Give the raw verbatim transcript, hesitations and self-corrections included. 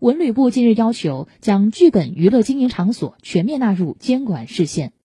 文旅部近日要求将剧本娱乐经营场所全面纳入监管视线。